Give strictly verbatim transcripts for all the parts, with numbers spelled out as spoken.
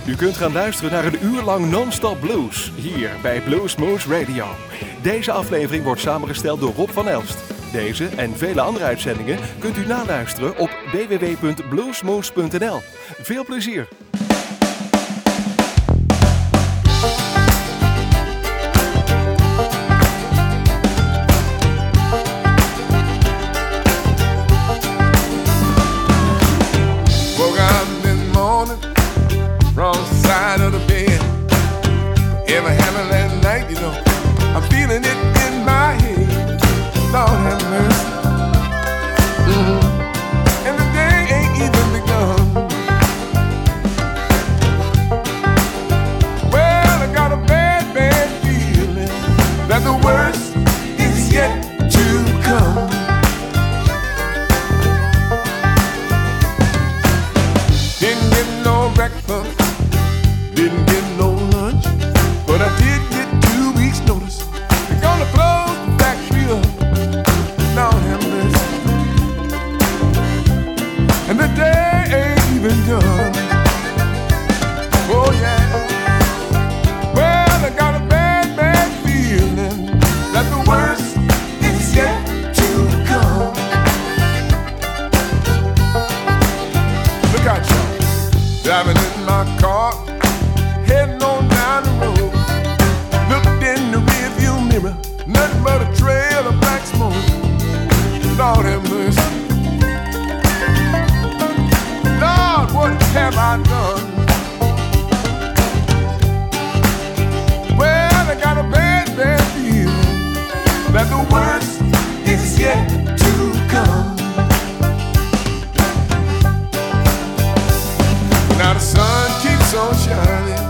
U kunt gaan luisteren naar een uur lang non-stop blues, hier bij Bluesmoose Radio. Deze aflevering wordt samengesteld door Rob van Elst. Deze en vele andere uitzendingen kunt u naluisteren op w w w punt bluesmoose punt n l. Veel plezier! Wrong side of the bed. Ever having that night, you know, I'm feeling it in my head. Lord have mercy. Mm-hmm. And the day ain't even begun. Well, I got a bad, bad feeling that the worst is yet to come. Didn't get no breakfast. Didn't get no lunch, but I did get two weeks' notice. They're gonna close the factory up. Lord have mercy. And the day ain't even done. Oh yeah. Well, I got a bad, bad feeling that the worst is yet to come. Look out, y'all. Driving in my car, heading on down the road. Looked in the rearview mirror, nothing but a trail of black smoke. Lord have mercy. Lord, what have I done? Well, I got a bad, bad feeling that the worst is yet to come. Now the sun keeps on shining,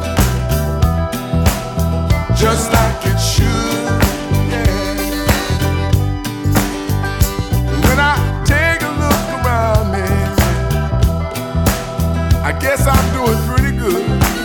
just like it should, yeah. And when I take a look around me, I guess I'm doing pretty good.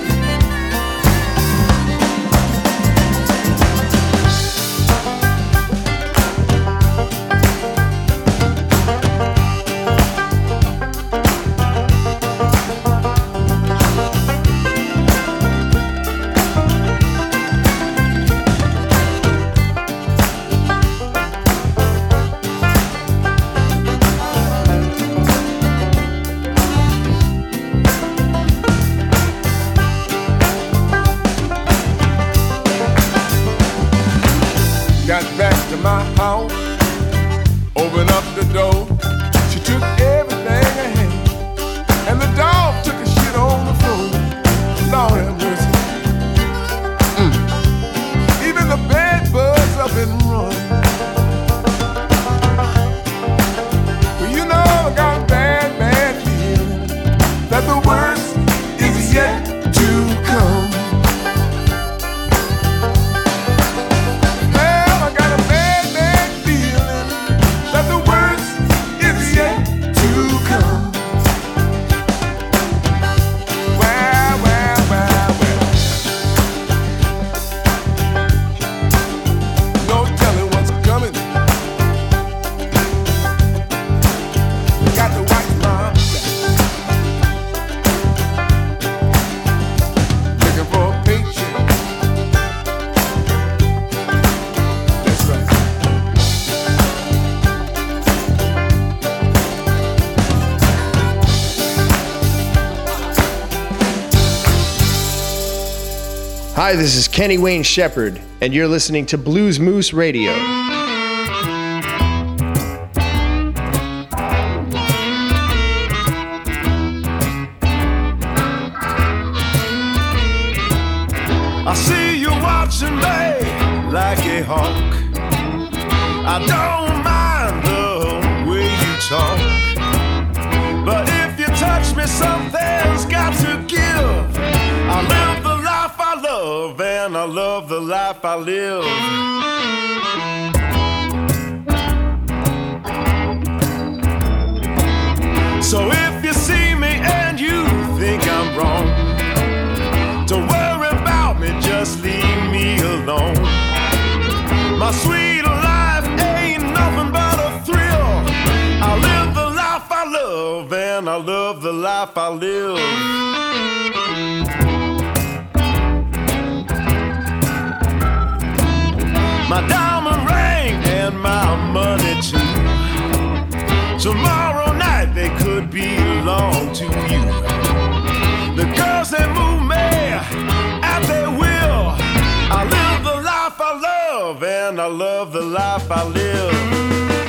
Got back to my house, opened up the door. She took everything I had, and the dog took a shit on the floor. Lord have mercy. Mm. Even the bed bugs up and run. Well, you know I got a bad, bad feeling that the worst is yet to come. Hi, this is Kenny Wayne Shepherd, and you're listening to Bluesmoose Radio. I see you watching me like a hawk. I don't mind the way you talk, but if you touch me, something's got to give. I live the life I love, and I love the life I live. So if you see me and you think I'm wrong, don't worry about me, just leave me alone. My sweet life ain't nothing but a thrill. I live the life I love, and I love the life I live. my diamond ring and my money too. Tomorrow night they could belong to you. The girls they move me at their will. I live the life I love and I love the life I live.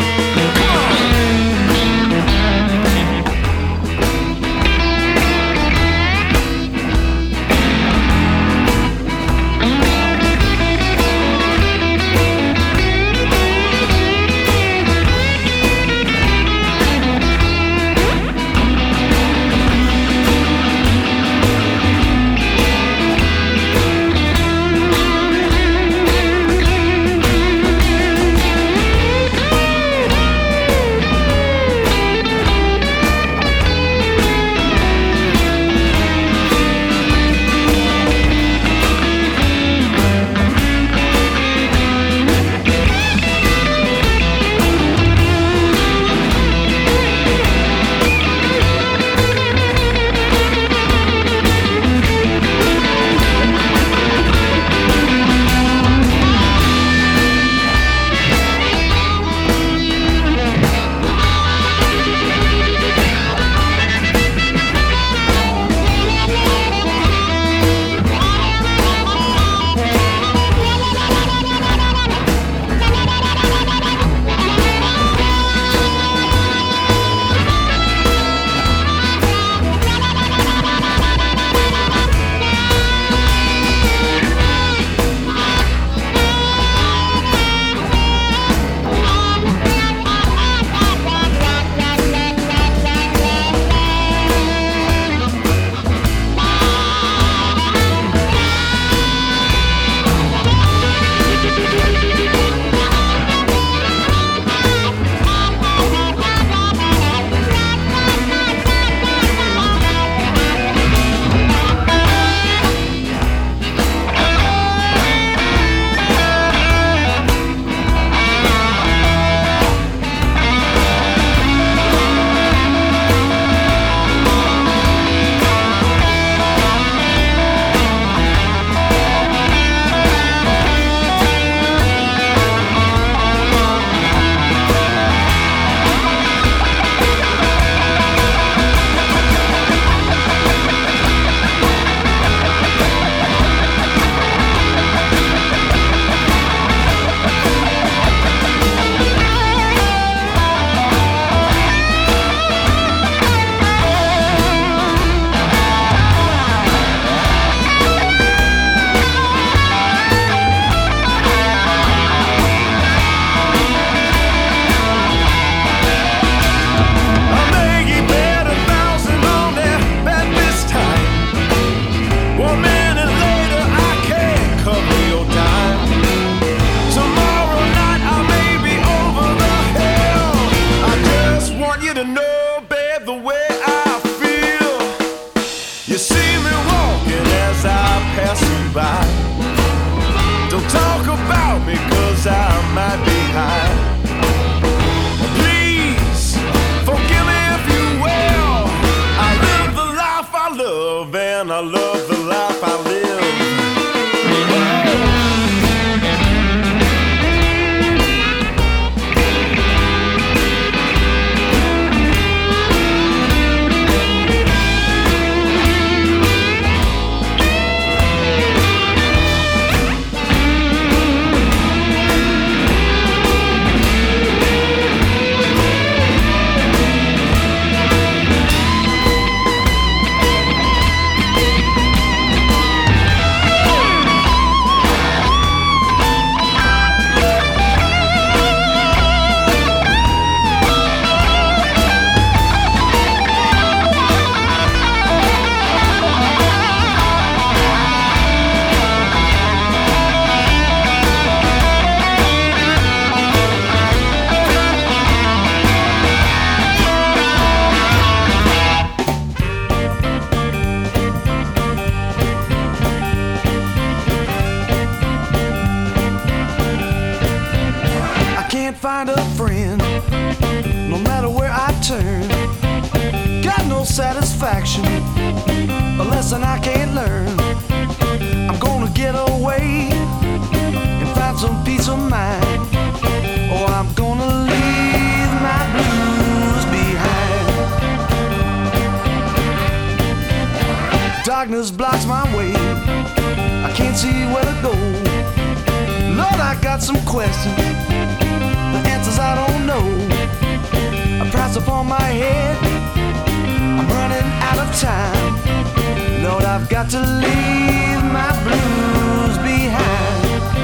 find a friend, no matter where I turn. Got no satisfaction, a lesson I can't learn. I'm gonna get away and find some peace of mind. Oh, I'm gonna leave my blues behind. Darkness blocks my way, I can't see where to go. Lord, I got some questions, the answers I don't know. A price upon my head, I'm running out of time. Lord, I've got to leave my blues behind.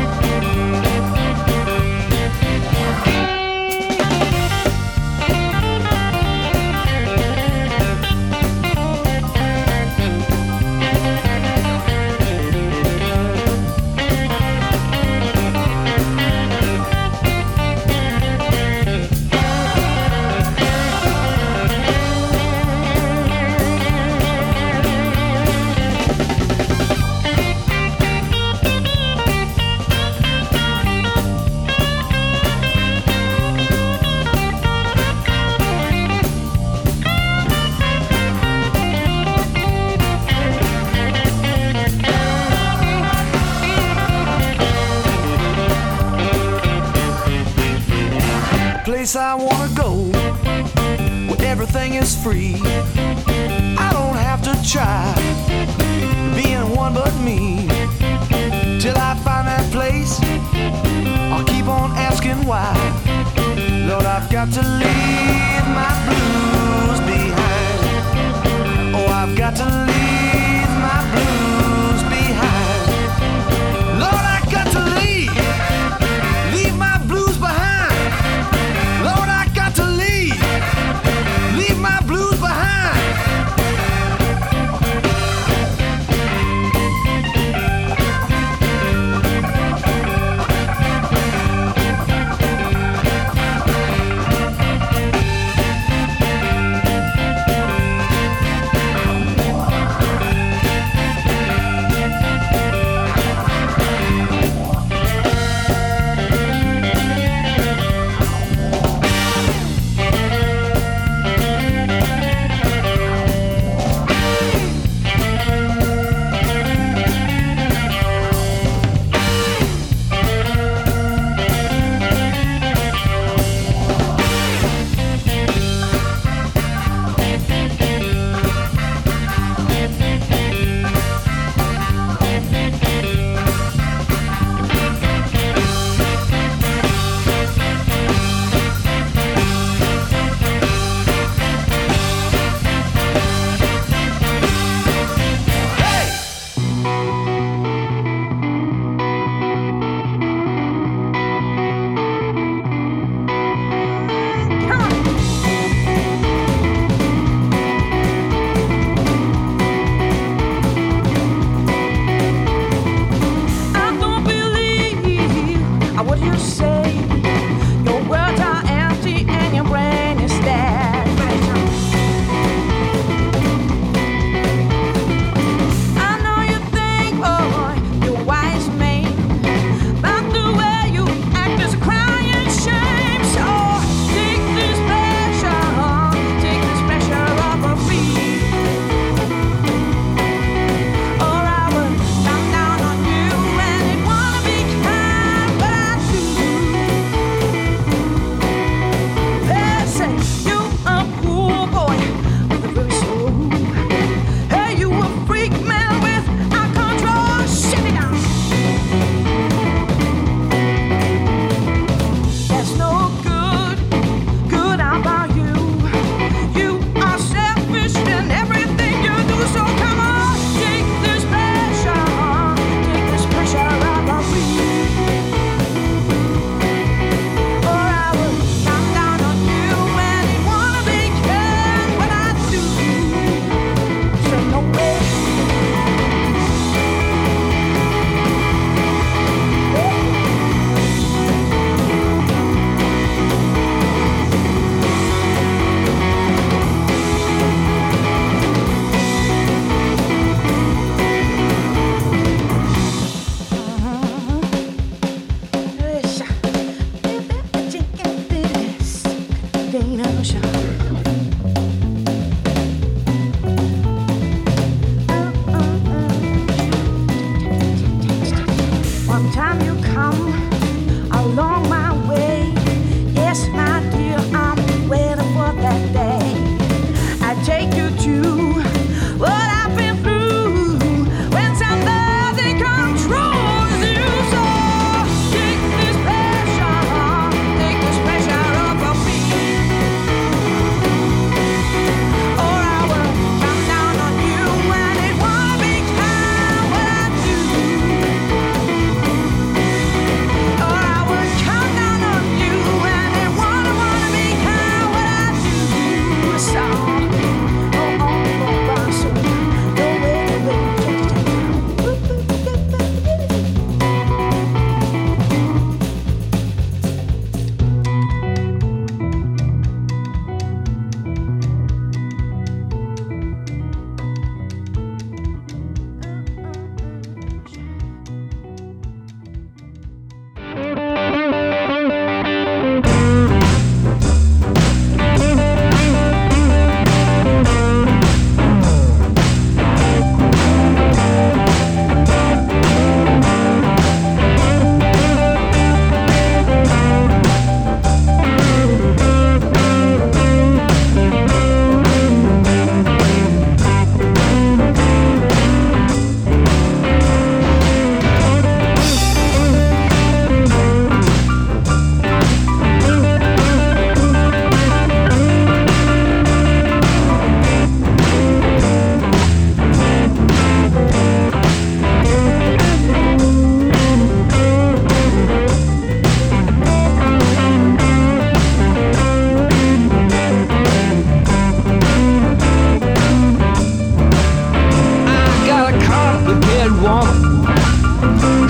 Place I wanna go, where everything is free. I don't have to try being one but me. Till I find that place, I'll keep on asking why. Lord, I've got to leave my blues behind. Oh, I've got to leave my blues behind. Lord, I got to leave, leave my blues behind. Lord, I got to leave, leave my blues behind.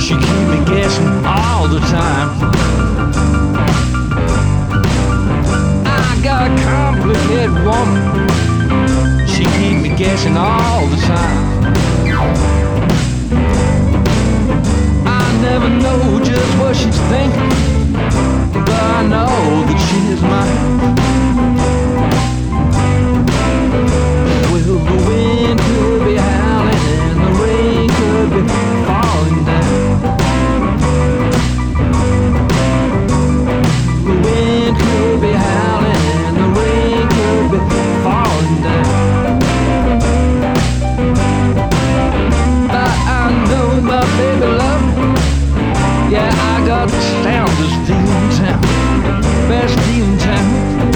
She keep me guessing all the time. I got a complicated woman. She keep me guessing all the time. I never know just what she's thinking, but I know that she is mine. Well, the wind could be howling and the rain could be falling down. The wind could be howling and the rain could be falling down. But I know my baby love me. Yeah, I got the soundest deal in town, best deal in town.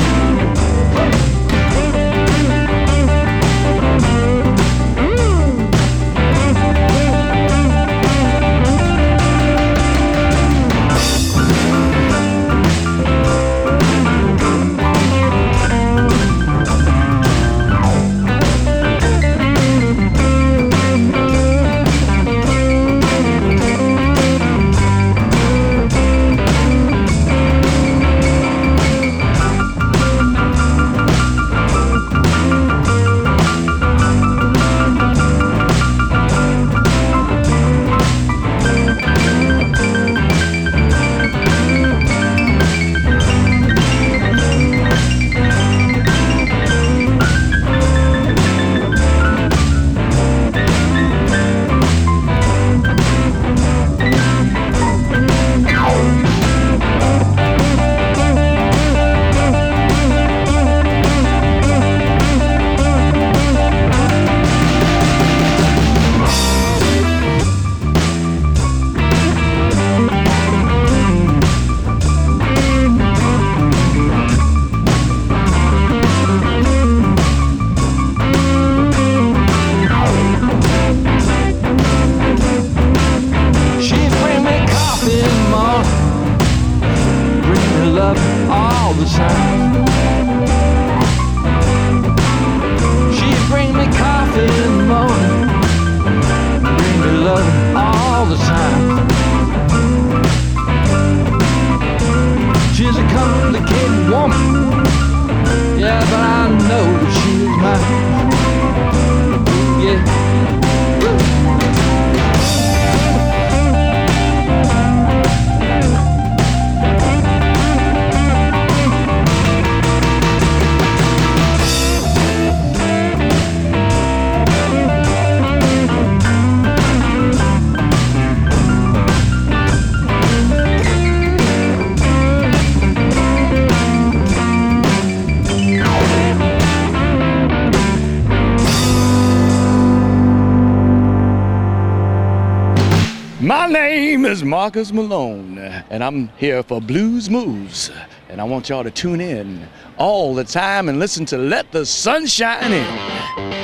My name is Marcus Malone, and I'm here for Blues Moves. And I want y'all to tune in all the time and listen to Let the Sun Shine In.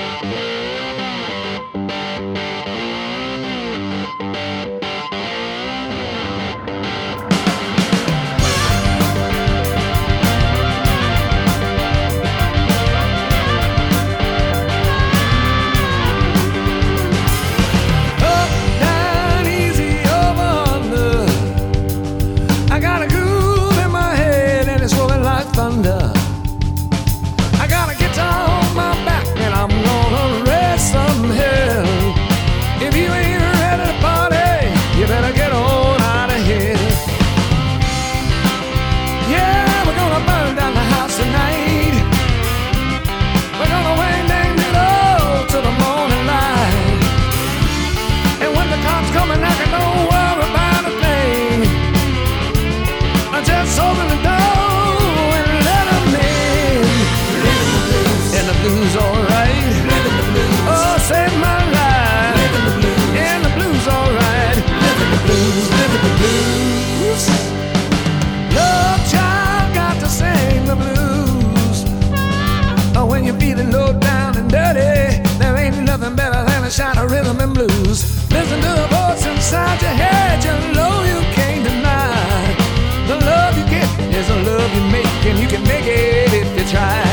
Shine a rhythm and blues. Listen to the voice inside your head. You know you can't deny. The love you get is the love you make, and you can make it if you try.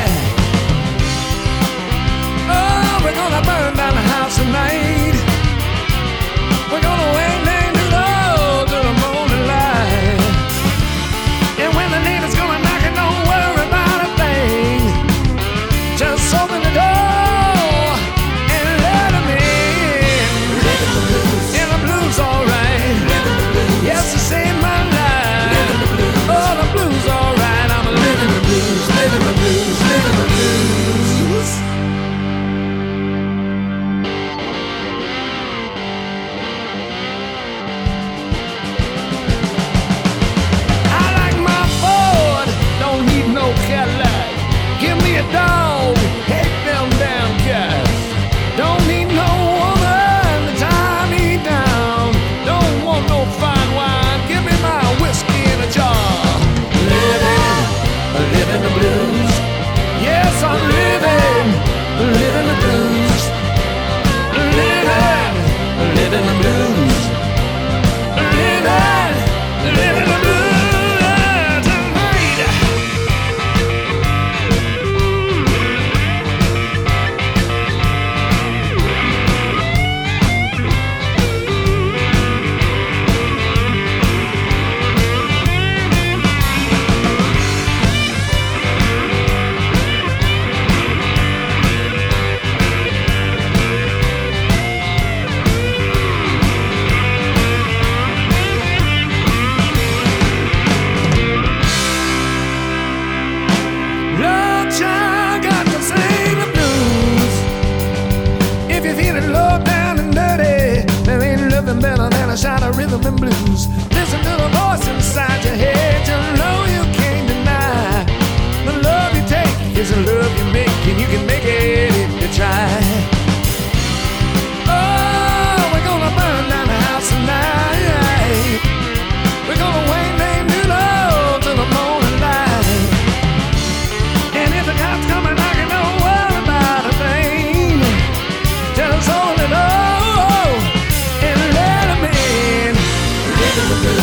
Oh, we're gonna burn down the house tonight. We're gonna wang dang do the rhythm and blues. Listen to the voice inside your head. You know you can't deny the love you take is the love you make, and you can make it if you try. Oh, we're gonna burn down the house tonight. We're gonna wait name new love till the morning light. And if the cops come and knocking, don't worry about a thing. Just hold it up and let them in. Living the blues.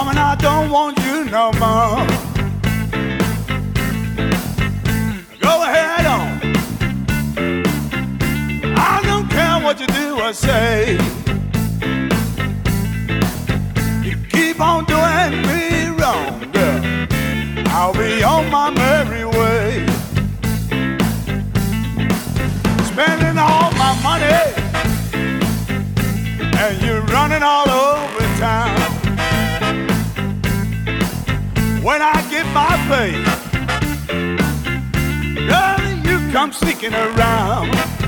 Woman, I don't want you no more. Go ahead on. I don't care what you do or say. You keep on doing me wrong, girl. I'll be on my merry way. Spending all my money, and you're running all over town. When I get my pay, girl, you come sneaking around.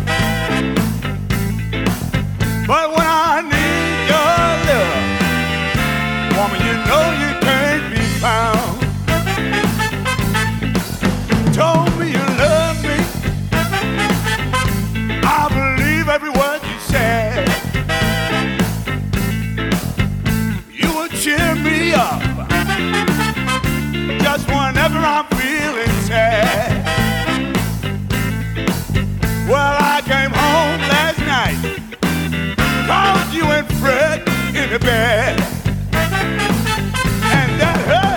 But when I need your love, woman, you know you can't be found. Told me you love me, I believe every word you said. You would cheer me up just whenever I'm feeling sad. Well, I came home last night, called you and Fred in the bed, and that hurt.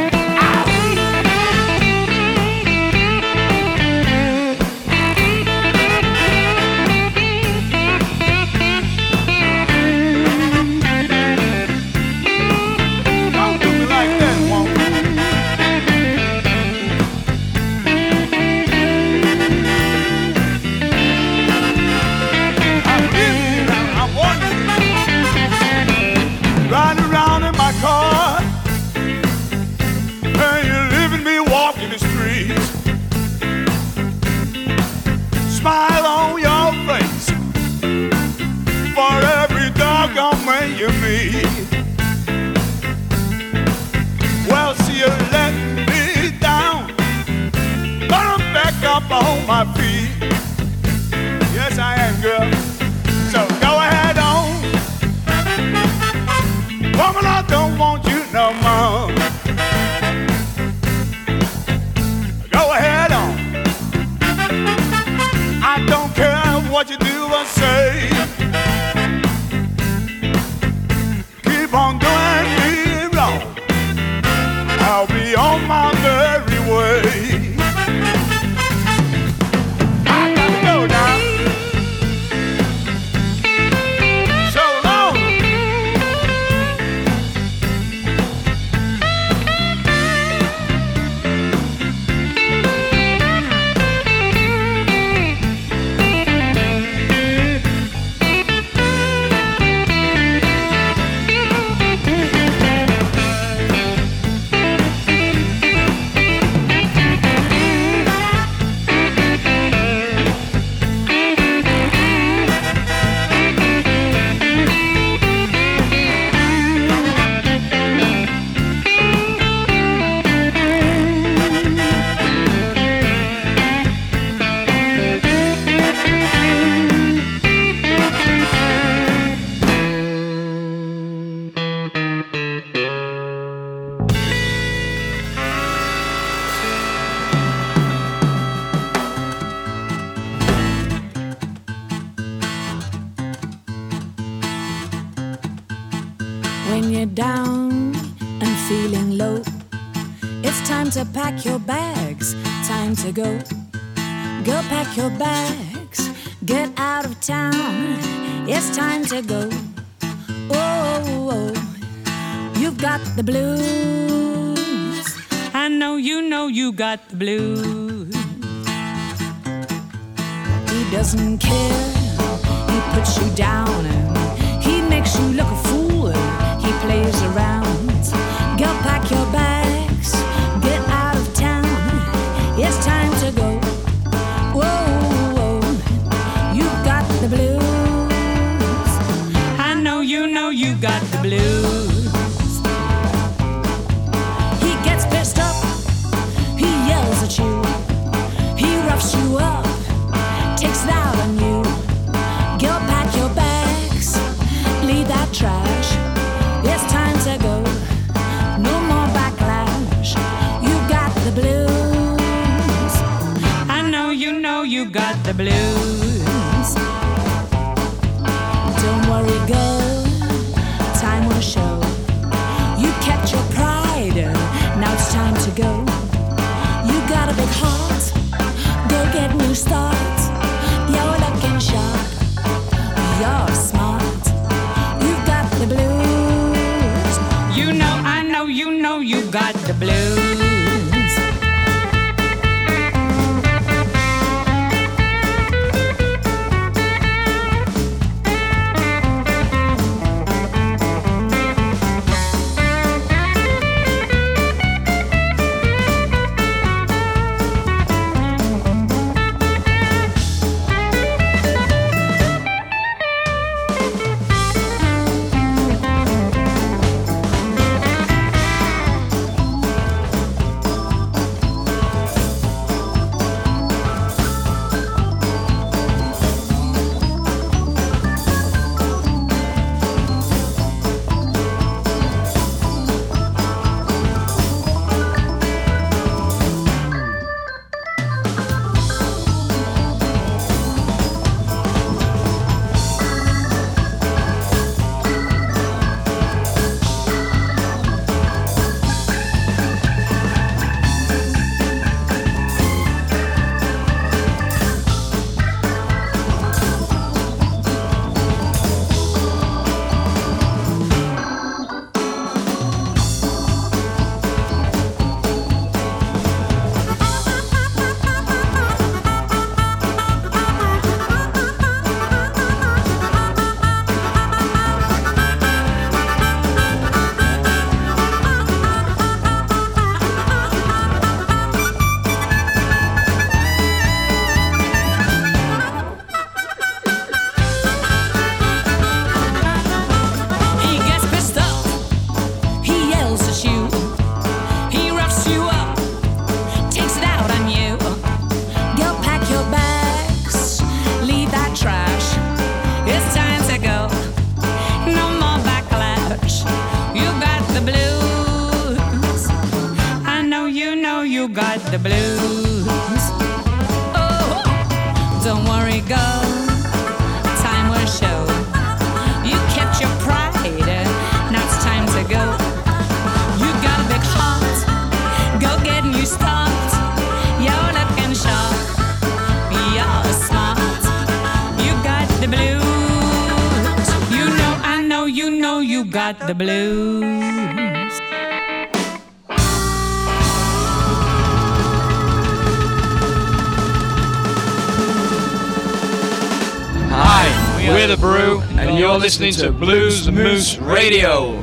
Smile on your face for every doggone man you meet. Well, see, you let me down, but I'm back up on my feet. Yes, I am, girl. So go ahead on. Woman, I don't want you no more. Go ahead on. I don't care what you do or say. Keep on doing me wrong, I'll be on my merry way. I gotta go now. So long. When you're down and feeling low, it's time to pack your bags, time to go. Go pack your bags, get out of town, it's time to go. Oh, oh, oh. You've got the blues. I know you know you got the blues. He doesn't care, he puts you down and he makes you look a fool. He plays around. Go pack your bags, get out of town, it's time to go. Whoa, whoa. You've got the blues. I know you know you got the blues. He gets pissed up, he yells at you, he roughs you up, takes it out on you. Go pack your bags, leave that trash, it's time to go. No more backlash, you got the blues. I know you know you got the blues. Don't worry, girl, time will show. You kept your You know, I know, you know you got the blues. The blues. Oh, don't worry, girl. Time will show. You kept your pride. Now it's time to go. You got a big heart. Go get a new start. You're looking sharp. You're smart. You got the blues. You know, I know, you know, you got the blues. Hi, we're The Brew, and you're listening to Blues Moose Radio.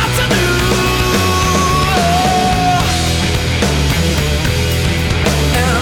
And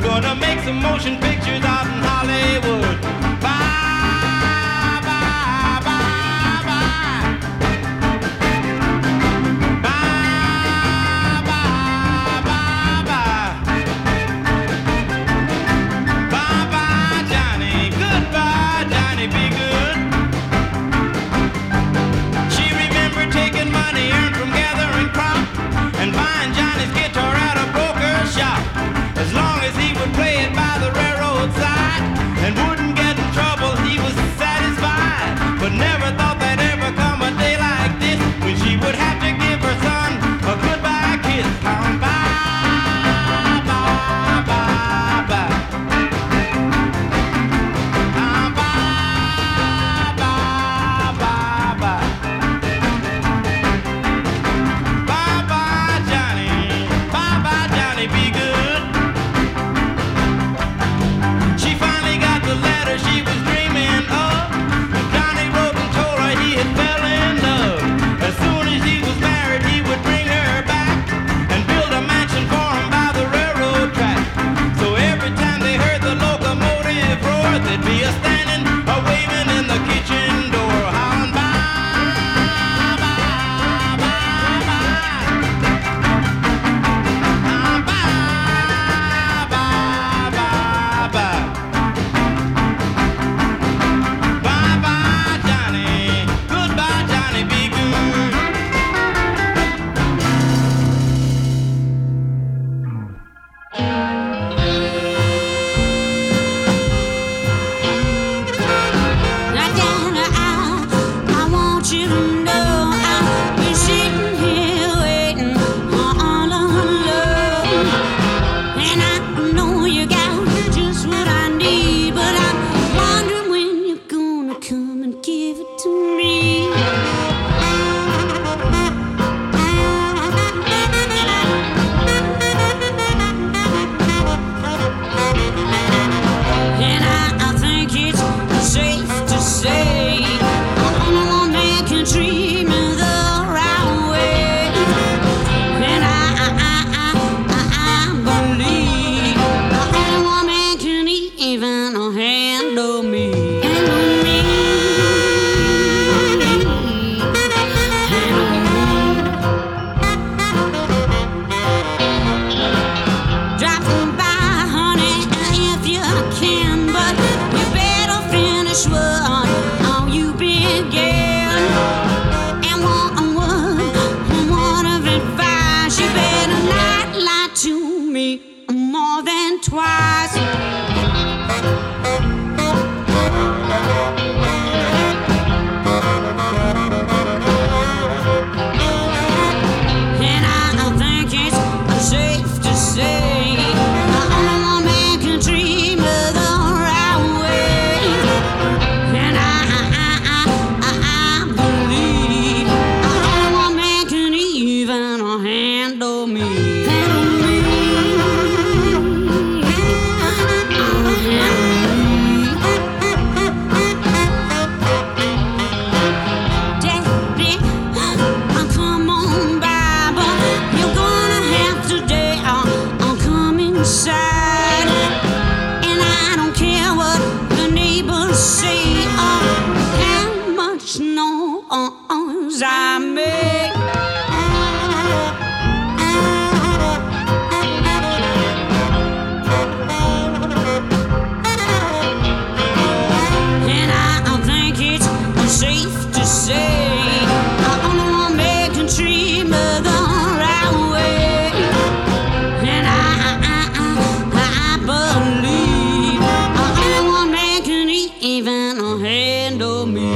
gonna make some motion pictures out in Hollywood. Bye, bye, bye, bye. Bye, bye, bye, bye. Bye, bye, Johnny. Goodbye, Johnny, be good. She remembered taking money earned from gathering crop and buying Johnny's guitar at a broker's shop. As long as he would play it by the railroad side and wouldn't get in trouble, he was satisfied. But never thought there'd ever come a day like this when she would have to give her son a goodbye kiss. Um, bye, bye, bye, bye. Um, bye, bye, bye, bye. Bye, bye, Johnny. Bye, bye, Johnny, be good. She finally got the letter she was dreaming of. Johnny wrote and told her he had fell in love. As soon as he was married, he would bring her back and build a mansion for him by the railroad track. So every time they heard the locomotive roar, there'd be a standing, a waving in the kitchen door, howling bye, bye, bye, bye. Ah, bye, bye, bye, bye. Bye bye, Johnny. Goodbye, Johnny. Be good. Now, Johnny, I, I want you to know I've been sitting here waiting all alone. And I know you got just what I need, but I'm wondering when you're gonna come and give it to me. And I, I think it's safe to say I'm the only one that can treat me the right way. And I, I, I, I, I believe the only one that can even handle me. Handle me. Handle me. Drop by, honey, if you can, but you better finish what all you began. And one word, one of advice, you better not lie to me more than twice. And I, I think it's safe to say the only one that can treat me the right way. And I, I, I, I, I believe the only one that can even handle me. Handle me. Oh, handle me. Daddy, oh, come on by, but you're gonna have to dare I'll come inside. And I don't care what the neighbors say or how much noise I make. And I, I think it's safe to say the only one that can treat me the right way. And I, I, I, I believe the only one that can even handle me.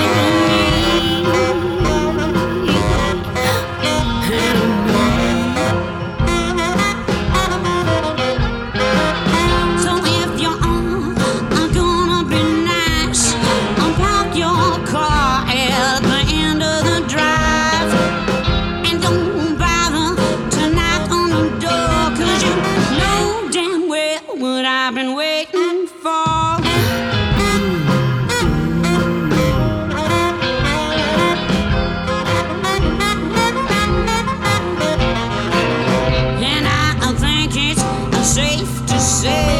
So if you're on, I'm gonna be nice. I'll park your car at the end of the drive. And don't bother to knock on the door, 'cause you know damn well what I've been waiting for. And I, I think it's safe to say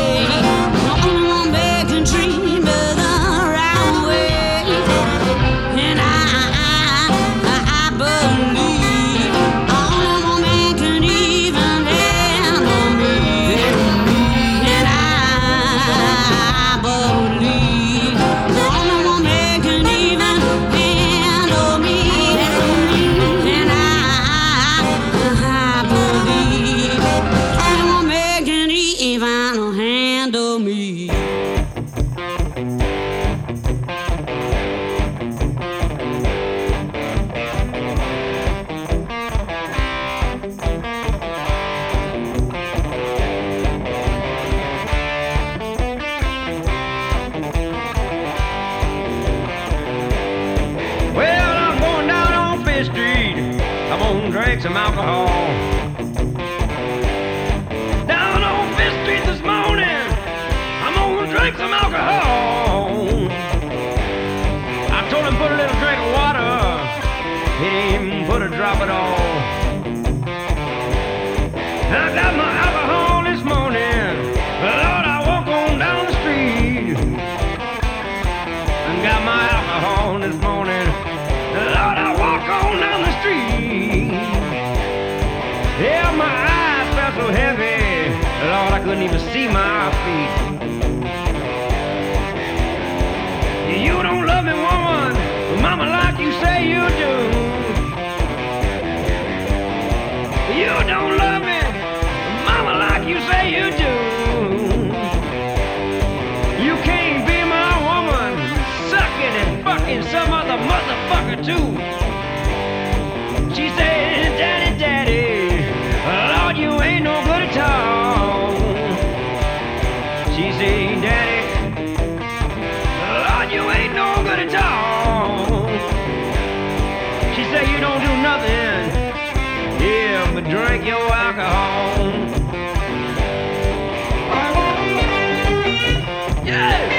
drink some alcohol. Down on Fifth Street this morning, I'm gonna drink some alcohol. I told him put a little drink of water, he didn't even put a drop at all. I got my alcohol this morning, Lord, I walk on down the street. I got my alcohol this morning, Lord, I walk on down the street. Yeah, my eyes felt so heavy, Lord, I couldn't even see my feet. You don't love me, woman, mama, like you say you do. You don't love me, mama, like you say you do. You can't be my woman, sucking and fucking some other motherfucker too. She said, daddy, daddy, Lord, you ain't no good at all. She said, daddy, Lord, you ain't no good at all. She said, you don't do nothing, yeah, but drink your alcohol. Yeah!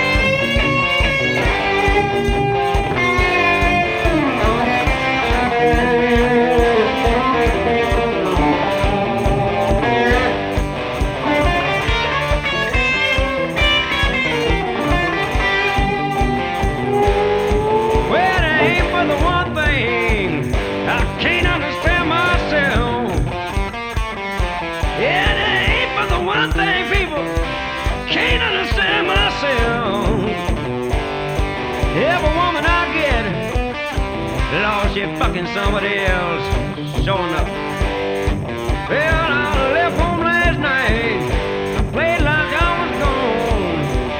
Every woman I get, Lord, she fucking somebody else, sure enough. Well, I left home last night, I played like I was gone.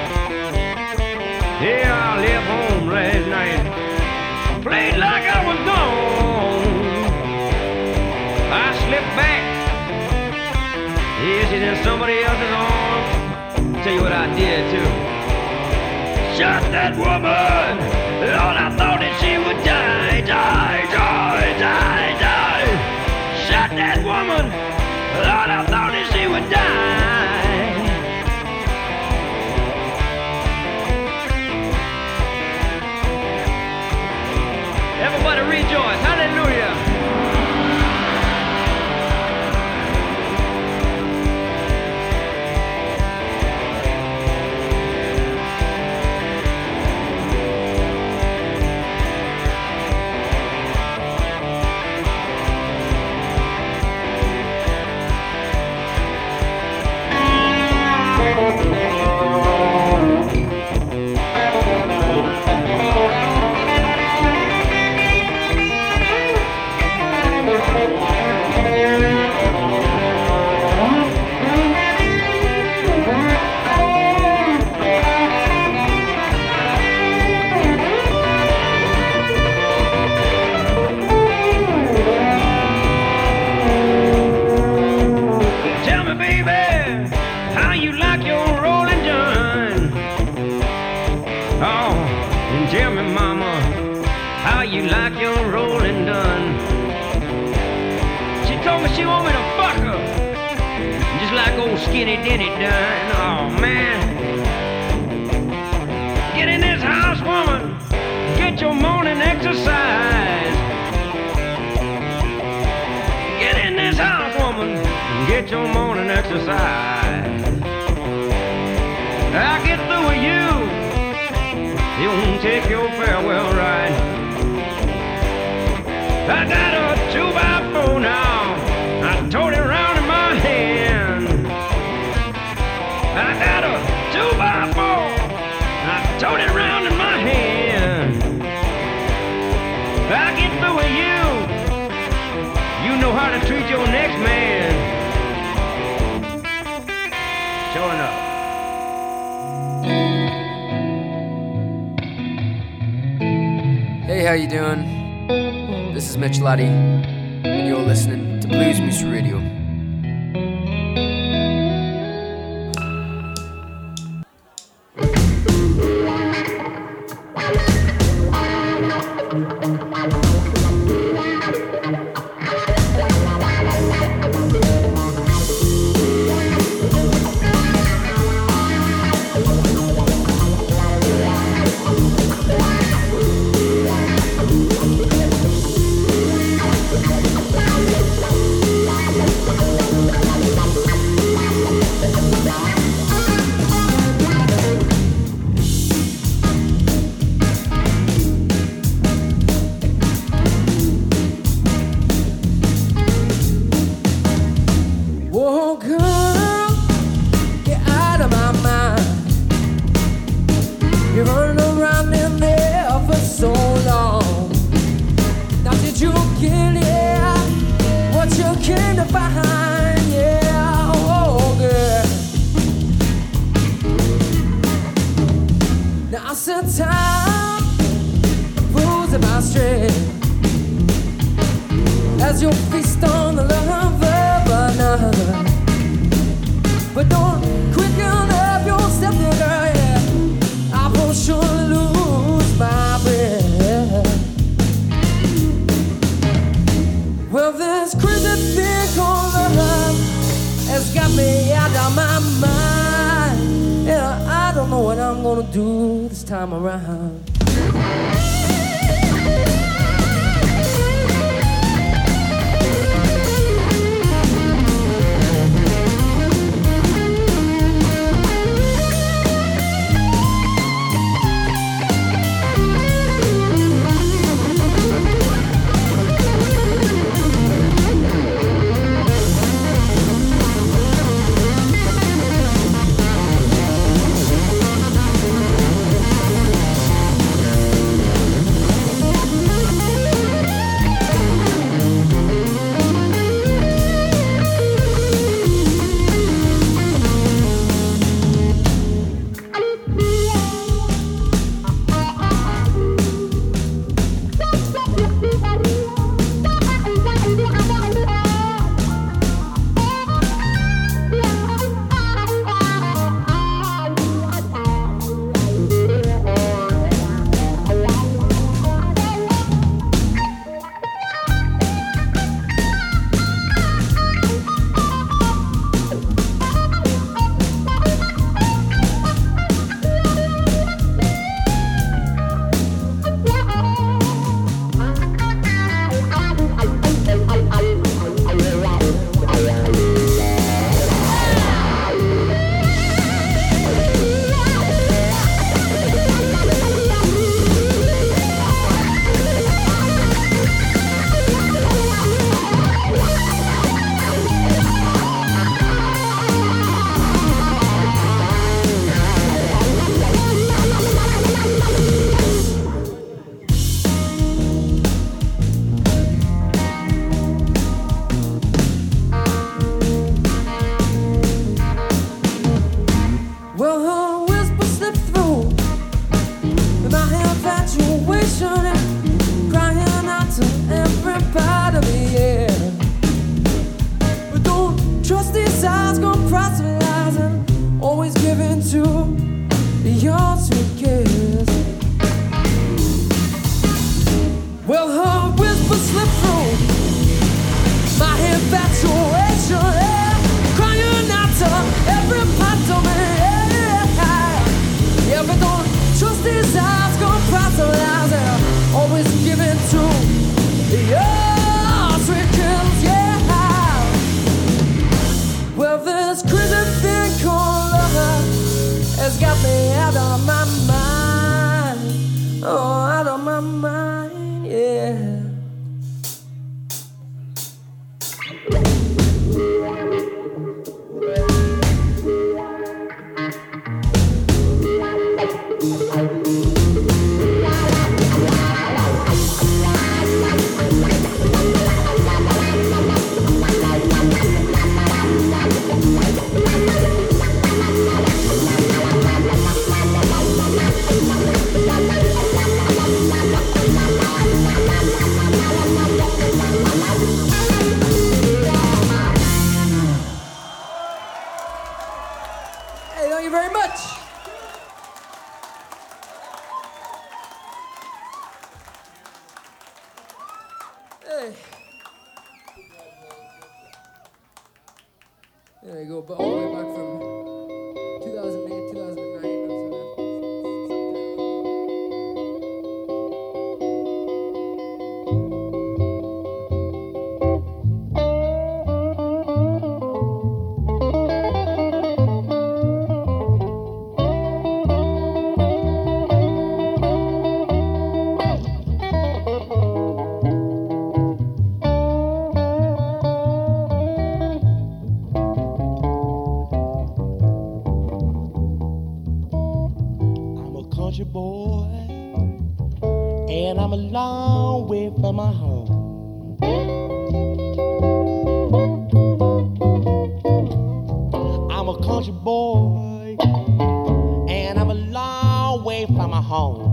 Yeah, I left home last night, played like I was gone. I slipped back, yeah, she's in somebody else's arms. Tell you what I did too. Shot that woman, Lord, I thought that she would die, die, die, die, die. Shot that woman, Lord, I thought that she would die. Everybody rejoice, hallelujah. Skinny Denny done, oh man. Get in this house, woman, get your morning exercise. Get in this house, woman, get your morning exercise. I'll get through with you, you won't take your farewell ride. I got a two by four now, I told it round in my hand. I got a two by four, I tote it around in my hand. I get through with you, you know how to treat your next man. Sure enough. Hey, how you doing? This is Mitch Laddie, and you're listening to Blues Moose Radio. You're running around in there for so long. Now did you get it? What you came to find? Yeah, oh girl. Now I said time proves my strength as you feast on the love of another. But don't quicken up your step, girl, yeah. I will surely lose my breath. Well, this crazy thing called love has got me out of my mind. Yeah, I don't know what I'm gonna do this time around. There you go, but all the way back from two thousand eight, two thousand nine. country boy, and I'm a long way from my home. I'm a country boy, and I'm a long way from my home.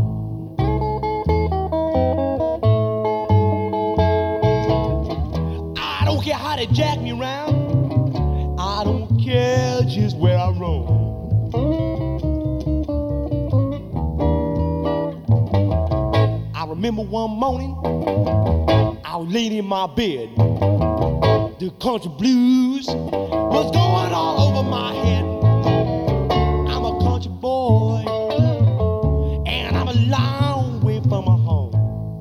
I don't care how they jack me around, I don't care just where I roam. I remember one morning, I was laying in my bed. The country blues was going all over my head. I'm a country boy, and I'm a long way from my home.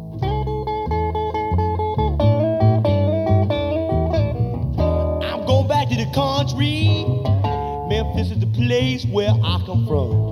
I'm going back to the country. Memphis is the place where I come from.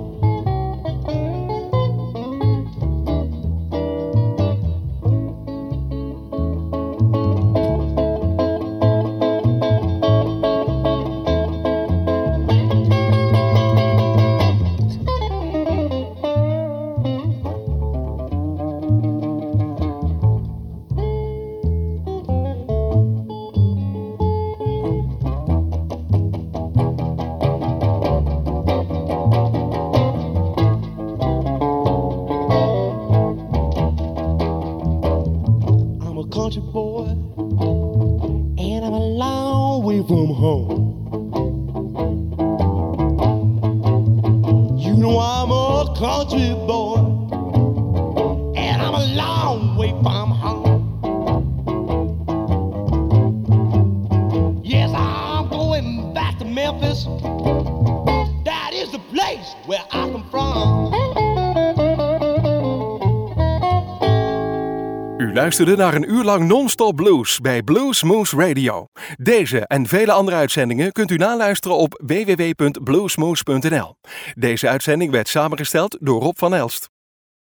Country boy, and I'm a long way from home. You know I'm a country boy, and I'm a long way from home. Yes, I'm going back to Memphis. That is the place where I come from. U luisterde naar een uur lang non-stop blues bij Blues Moose Radio. Deze en vele andere uitzendingen kunt u naluisteren op w w w punt bluesmoose punt n l. Deze uitzending werd samengesteld door Rob van Elst.